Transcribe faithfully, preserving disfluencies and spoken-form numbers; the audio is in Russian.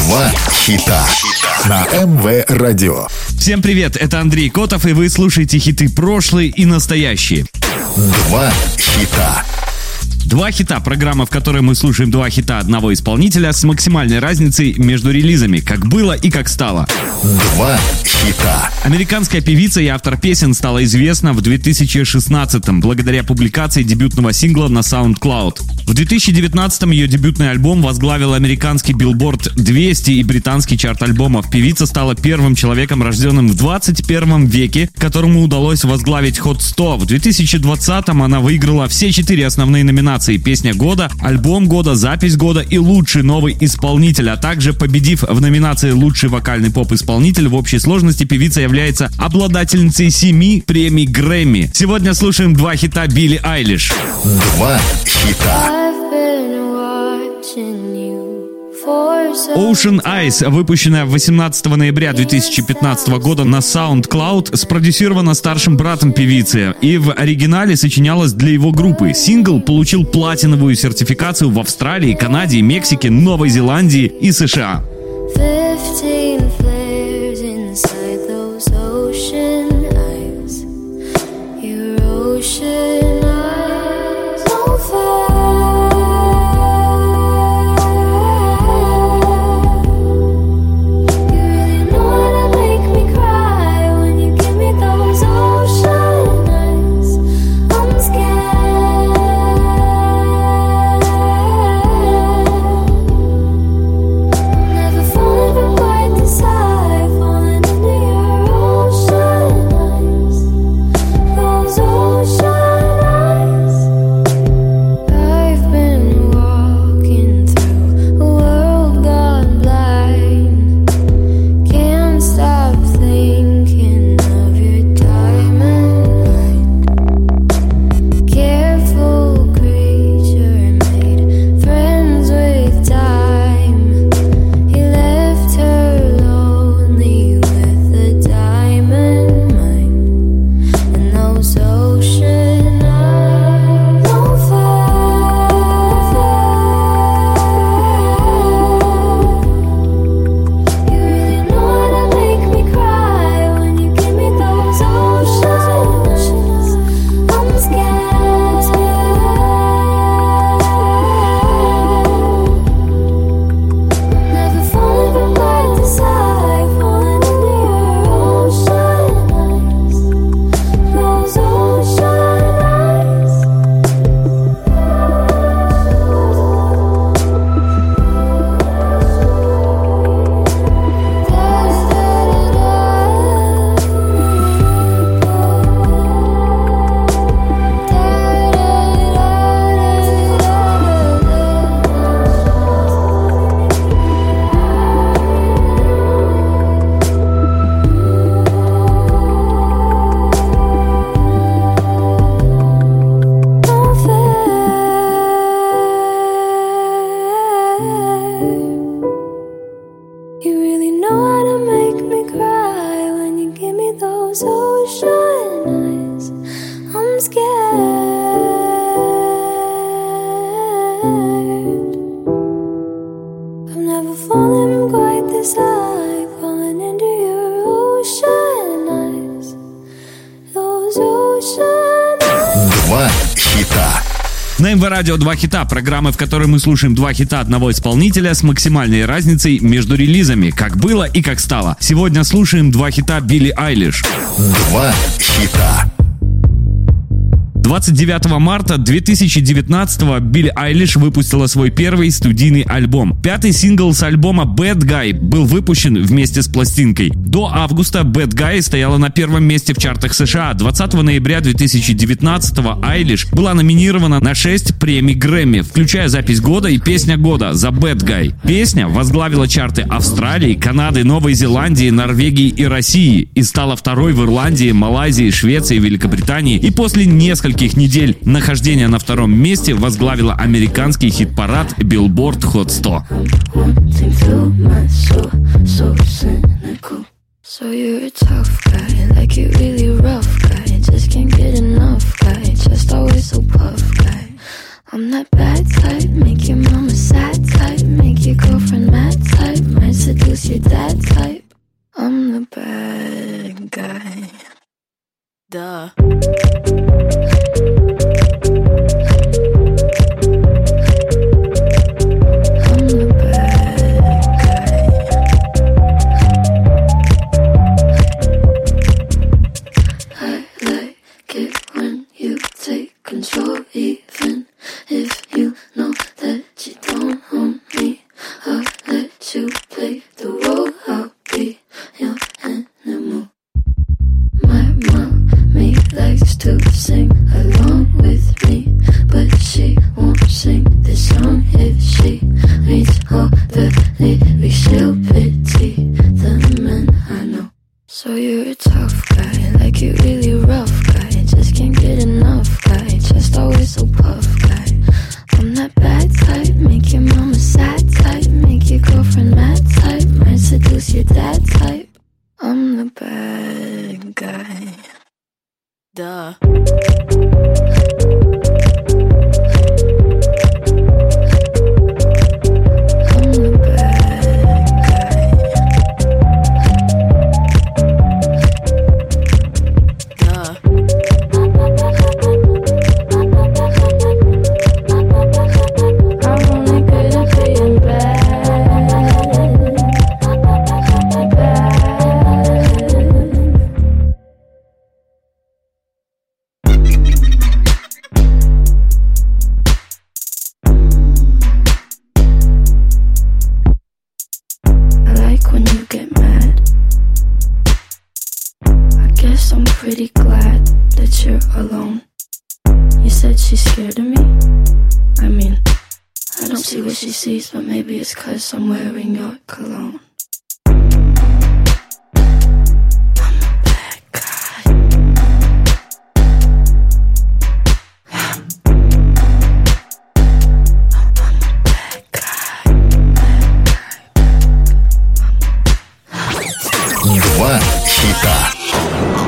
Два хита на эм вэ Радио. Всем привет, это Андрей Котов, и вы слушаете хиты прошлые и настоящие. Два хита. Два хита – программа, в которой мы слушаем два хита одного исполнителя с максимальной разницей между релизами, как было и как стало. Два хита. Американская певица и автор песен стала известна в две тысячи шестнадцатом благодаря публикации дебютного сингла на SoundCloud. В две тысячи девятнадцатом ее дебютный альбом возглавил американский Billboard двести и британский чарт альбомов. Певица стала первым человеком, рожденным в двадцать первом веке, которому удалось возглавить Hot сто. В две тысячи двадцатом она выиграла все четыре основные номинации: песня года, альбом года, запись года и лучший новый исполнитель, а также победив в номинации лучший вокальный поп-исполнитель. В общей сложности певица является обладательницей семи премий Грэмми. Сегодня слушаем два хита Билли Айлиш. Два хита. Ocean Eyes, выпущенная восемнадцатого ноября две тысячи пятнадцатого года на SoundCloud, спродюсирована старшим братом певицы и в оригинале сочинялась для его группы. Сингл получил платиновую сертификацию в Австралии, Канаде, Мексике, Новой Зеландии и США. Два хита. На эм вэ Радио два хита, программы, в которой мы слушаем два хита одного исполнителя с максимальной разницей между релизами, как было и как стало. Сегодня слушаем два хита Билли Айлиш. Два хита. двадцать девятого марта две тысячи девятнадцатого Билли Айлиш выпустила свой первый студийный альбом. Пятый сингл с альбома Bad Guy был выпущен вместе с пластинкой. До августа Bad Guy стояла на первом месте в чартах США. двадцатого ноября две тысячи девятнадцатого Айлиш была номинирована на шесть премий Грэмми, включая запись года и песня года за Bad Guy. Песня возглавила чарты Австралии, Канады, Новой Зеландии, Норвегии и России и стала второй в Ирландии, Малайзии, Швеции, Великобритании, и после нескольких недель нахождения на втором месте возглавила американский хит-парад Billboard Hot сто. So you're a tough guy, like you really rough guy. Just can't get enough guy, just always so puff guy. I'm that bad type, make your mama sad type. make your girlfriend mad type, might seduce your dad type. I'm the bad guy. Duh. Control, even if you know that you don't own me. I'll let you play the role. I'll be your animal. My mommy likes to sing along with me, but she won't sing this song if she reads all the lyrics. She'll pity the men I know. So you're a tough guy, like you really rough guy, just can't get enough guy, just always so puff guy. I'm that bad type, make your mama sad type, make your girlfriend mad type, might seduce your dad type. I'm the bad guy. Duh. I'm pretty glad that you're alone. You said she's scared of me? I mean, I don't see what she sees, but maybe it's 'cause I'm wearing your cologne. I'm a bad guy. I'm a bad guy. Два хита.